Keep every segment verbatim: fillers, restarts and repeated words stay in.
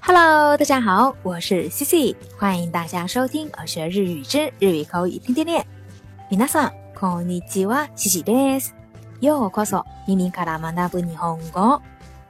Hello， 大家好，我是 C C， 欢迎大家收听而学日语之日语口语天天练。皆さんこんにちは、C Cです。ようこそ耳から学ぶ日本語。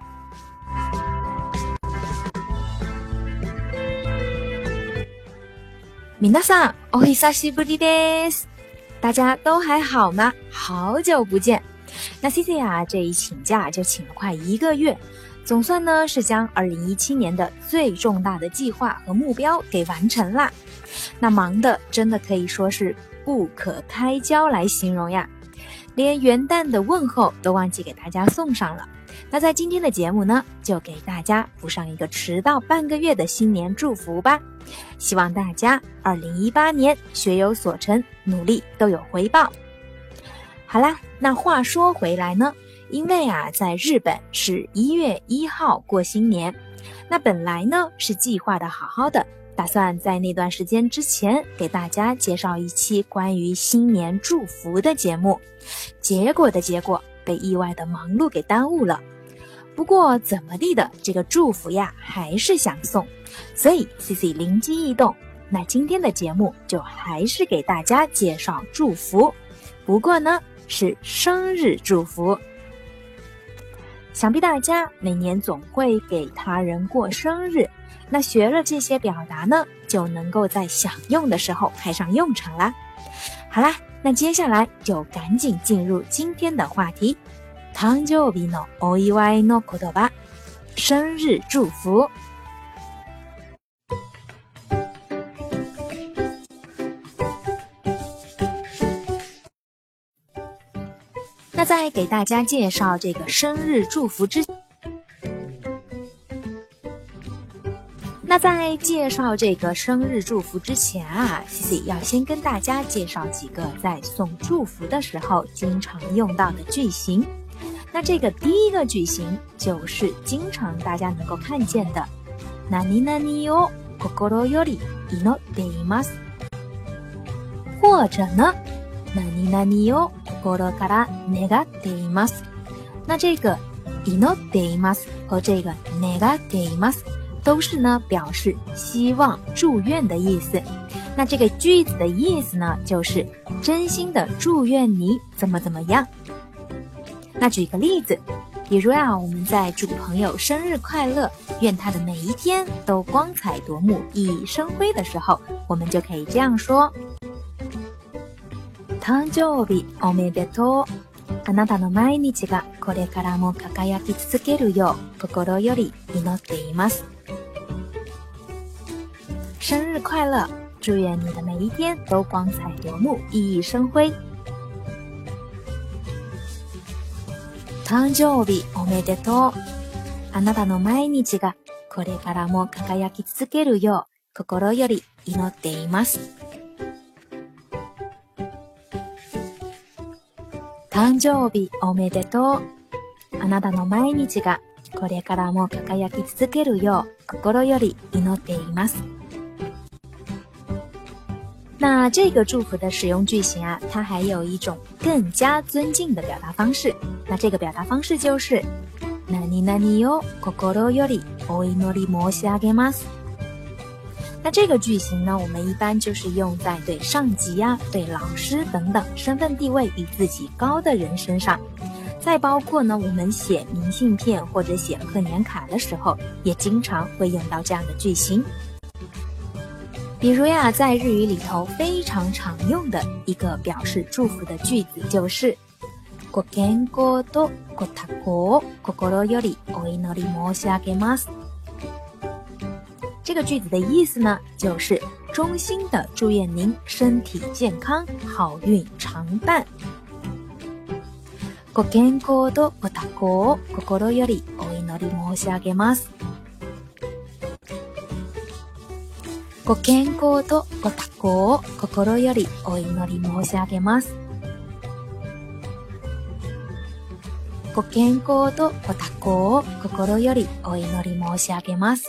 皆さんお久しぶりです。大家都还好吗？好久不见。那 C C 啊，这一请假就请了快一个月。总算呢是将二零一七年的最重大的计划和目标给完成啦。那忙的真的可以说是不可开交来形容呀，连元旦的问候都忘记给大家送上了。那在今天的节目呢，就给大家补上一个迟到半个月的新年祝福吧。希望大家二零一八年学有所成，努力都有回报。好啦，那话说回来呢，因为啊，在日本是一月一号过新年，那本来呢是计划的好好的，打算在那段时间之前给大家介绍一期关于新年祝福的节目，结果的结果被意外的忙碌给耽误了。不过怎么地的，这个祝福呀还是想送，所以 C C 灵机一动，那今天的节目就还是给大家介绍祝福，不过呢是生日祝福。想必大家每年总会给他人过生日，那学了这些表达呢，就能够在想用的时候派上用场啦。好啦，那接下来就赶紧进入今天的话题，誕生日のお祝いの言葉，生日祝福。那在给大家介绍这个生日祝福之那在介绍这个生日祝福之前啊 ，C C 要先跟大家介绍几个在送祝福的时候经常用到的句型。那这个第一个句型就是经常大家能够看见的何々を心より祈っています，或者呢何々を心から願っています。那这个祈っています和这个願っています都是呢表示希望祝愿的意思。那这个句子的意思呢，就是真心的祝愿你怎么怎么样。那举个例子，比如啊，我们在祝朋友生日快乐，愿他的每一天都光彩夺目、熠熠生辉的时候，我们就可以这样说：誕生日おめでとう。あなたの毎日がこれからも輝き続けるよう心より祈っています。生日快乐，祝愿你的每一天都光彩夺目、熠熠生辉。誕生日おめでとう。あなたの毎日がこれからも輝き続けるよう心より祈っています。誕生日おめでとう。あなたの毎日がこれからも輝き続けるよう心より祈っています。那这个祝福的使用句型啊，它还有一种更加尊敬的表达方式。那这个表达方式就是何々を心よりお祈り申し上げます。那这个句型呢，我们一般就是用在对上级啊、对老师等等身份地位比自己高的人身上。再包括呢，我们写明信片或者写贺年卡的时候，也经常会用到这样的句型。比如呀，在日语里头非常常用的一个表示祝福的句子就是ご健康とご多幸を心よりお祈り申し上げます。这个句子的意思呢，就是衷心的祝愿您身体健康，好运常伴。ご健康とご多幸を心よりお祈り申し上げます。ご健康とご多幸を心よりお祈り申し上げます。ご健康とご多幸を心よりお祈り申し上げます。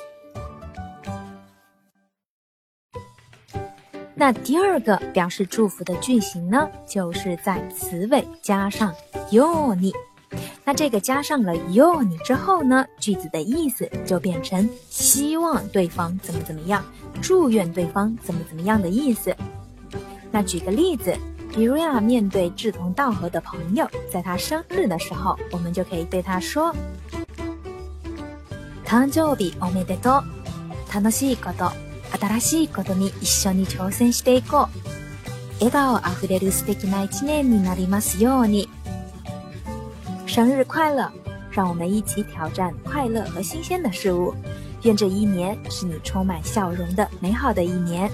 那第二个表示祝福的句型呢，就是在词尾加上ように。 那这个加上了ように之后呢，句子的意思就变成希望对方怎么怎么样，祝愿对方怎么怎么样的意思。那举个例子，比如呀，面对志同道合的朋友，在他生日的时候，我们就可以对他说誕生日おめでとう。楽しいこと、新しいことに一緒に挑戦していこう。笑顔あふれる素敵な一年になりますように。生日快乐，让我们一起挑战快乐和新鲜的事物。愿这一年是你充满笑容的美好的一年。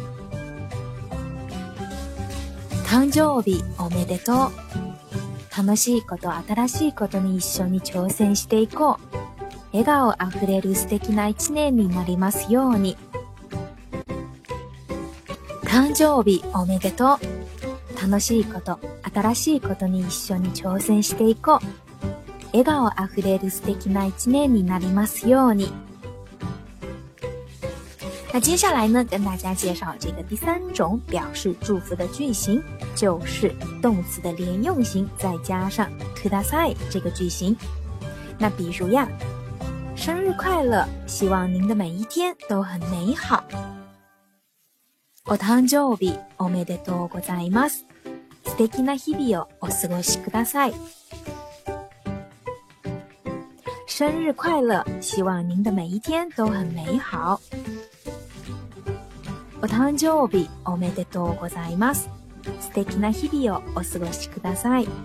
誕生日おめでとう。楽しいこと、新しいことに一緒に挑戦していこう。笑顔あふれる素敵な一年になりますように。誕生日おめでとう。楽しいこと、新しいことに一緒に挑戦していこう。笑顔あふれる素敵な一年になりますように。那接下来呢，跟大家介绍这个第三种表示祝福的句型，就是动词的连用型，再加上ください这个句型。那比如呀，生日快乐，希望您的每一天都很美好。お誕生日おめでとうございます。素敵な日々をお過ごしください。生日快乐，希望您的每一天都很美好。お誕生日おめでとうございます。素敵な日々をお過ごしください。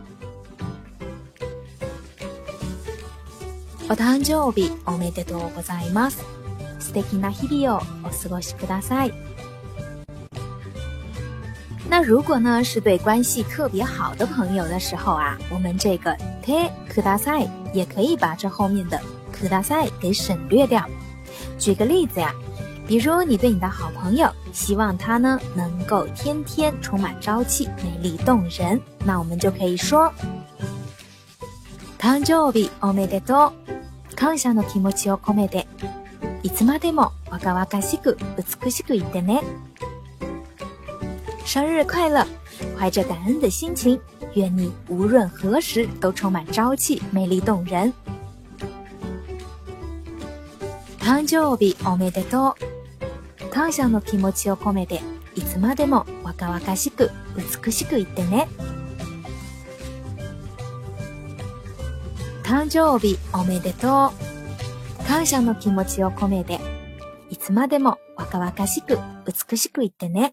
お誕生日おめでとうございます。素敵な日々をお過ごしください。那如果呢是对关系特别好的朋友的时候啊，我们这个てください也可以把这后面的ください给省略掉。举个例子呀，比如你对你的好朋友，希望他呢能够天天充满朝气，美丽动人，那我们就可以说誕生日おめでとう。感謝の気持ちを込めて、いつまでも若々しく美しくいてね。生日快乐，怀着感恩的心情，愿你无论何时都充满朝气，美丽动人。誕生日おめでとう。感謝の気持ちを込めて、いつまでも若々しく美しくいてね。誕生日おめでとう。感謝の気持ちを込めて、いつまでも若々しく美しくいてね。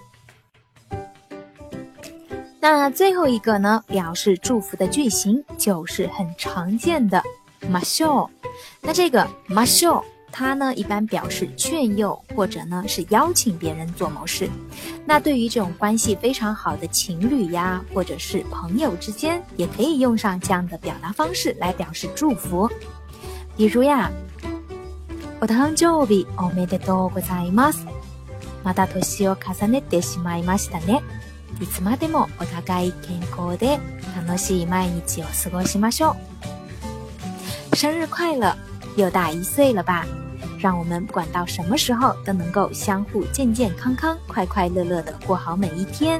那最后一个呢，表示祝福的句型就是很常见的ましょう。那这个ましょう，它呢一般表示劝诱或者呢是邀请别人做某事。那对于这种关系非常好的情侣呀，或者是朋友之间，也可以用上这样的表达方式来表示祝福。比如呀，お誕生日おめでとうございます。また年を重ねてしまいましたね。いつまでもお互い健康で楽しい毎日を過ごしましょう。生日快乐，又大一岁了吧？让我们不管到什么时候都能够相互健健康康、快快乐乐的过好每一天。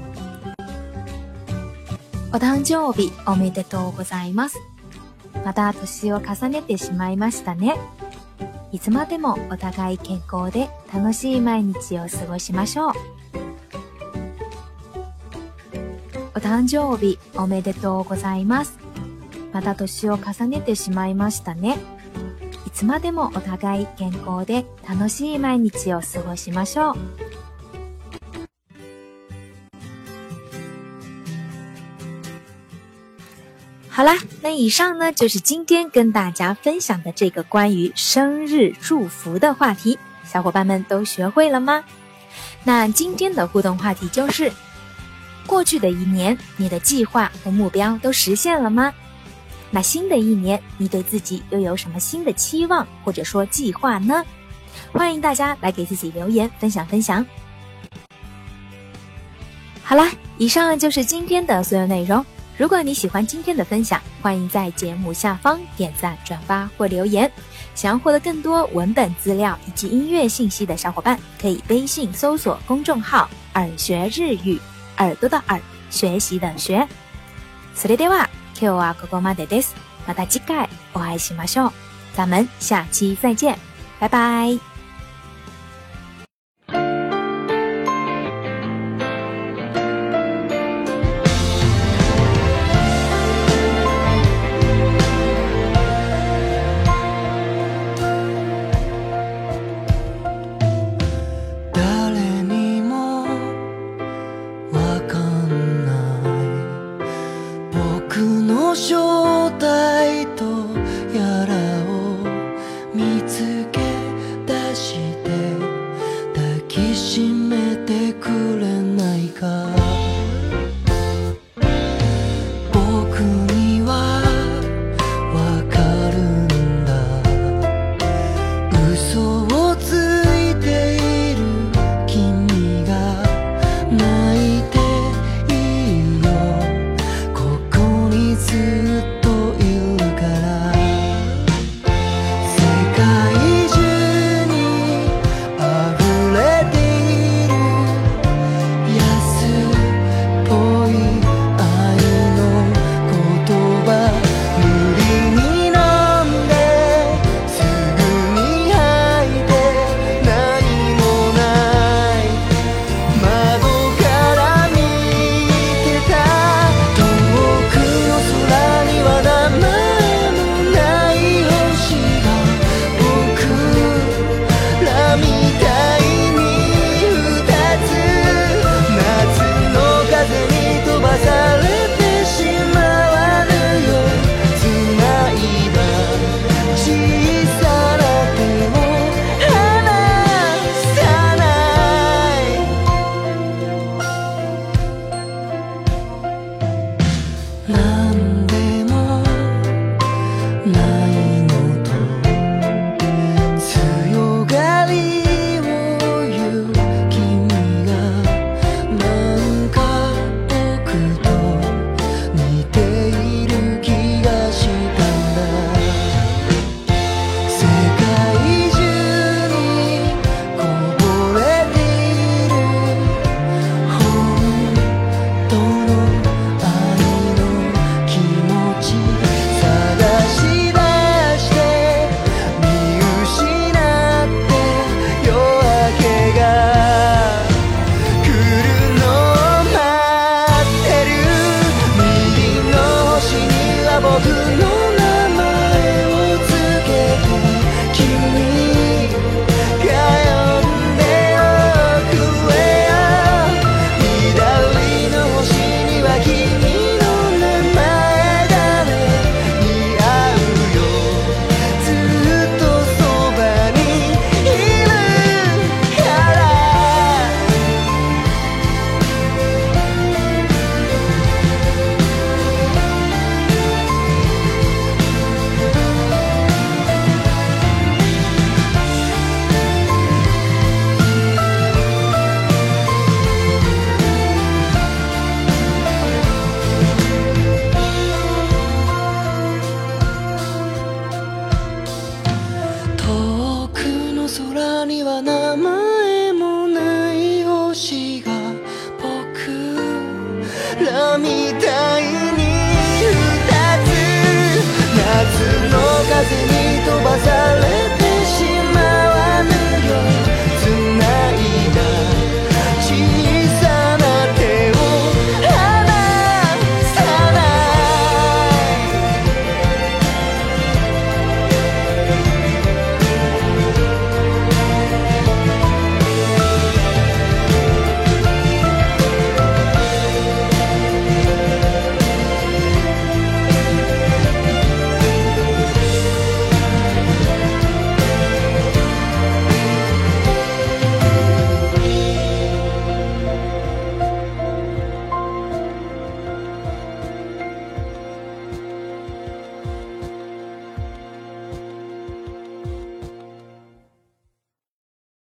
お誕生日おめでとうございます。また年を重ねてしまいましたね。いつまでもお互い健康で楽しい毎日を過ごしましょう。お誕生日おめでとうございます。また年を重ねてしまいましたね。いつまでもお互い健康で楽しい毎日を過ごしましょう。好啦，那以上呢就是今天跟大家分享的这个关于生日祝福的话题，小伙伴们都学会了吗？那今天的互动话题就是，过去的一年，你的计划和目标都实现了吗？那新的一年，你对自己又有什么新的期望或者说计划呢？欢迎大家来给自己留言分享分享。好啦，以上就是今天的所有内容。如果你喜欢今天的分享，欢迎在节目下方点赞、转发或留言。想要获得更多文本资料以及音乐信息的小伙伴，可以微信搜索公众号耳学日语，耳朵的耳，学习的学。それでは今日はここまでです。 また次回お会いしましょう。咱们下期再见，拜拜。 正体とやらを見つけ出して抱きしめてくれないか。僕にはわかるんだ、嘘をついている君が泣いているよ、ここにずっといるから。世界中に溢れている安っぽい愛の言葉、無理に飲んですぐに吐いて何もない窓から見てた遠くの空には名前もない星が僕らみたいに二つ夏の風に飛ばされてしまわぬよ。繋いだ小さな手を離さない。なんでもないのと強がりを言う君がなんか僕と似ている気がしたんだ。世界中にこぼれている本当の愛の気持ち探し出して見失って夜明けが来るのを待ってる。右の星には僕の名前をつけて君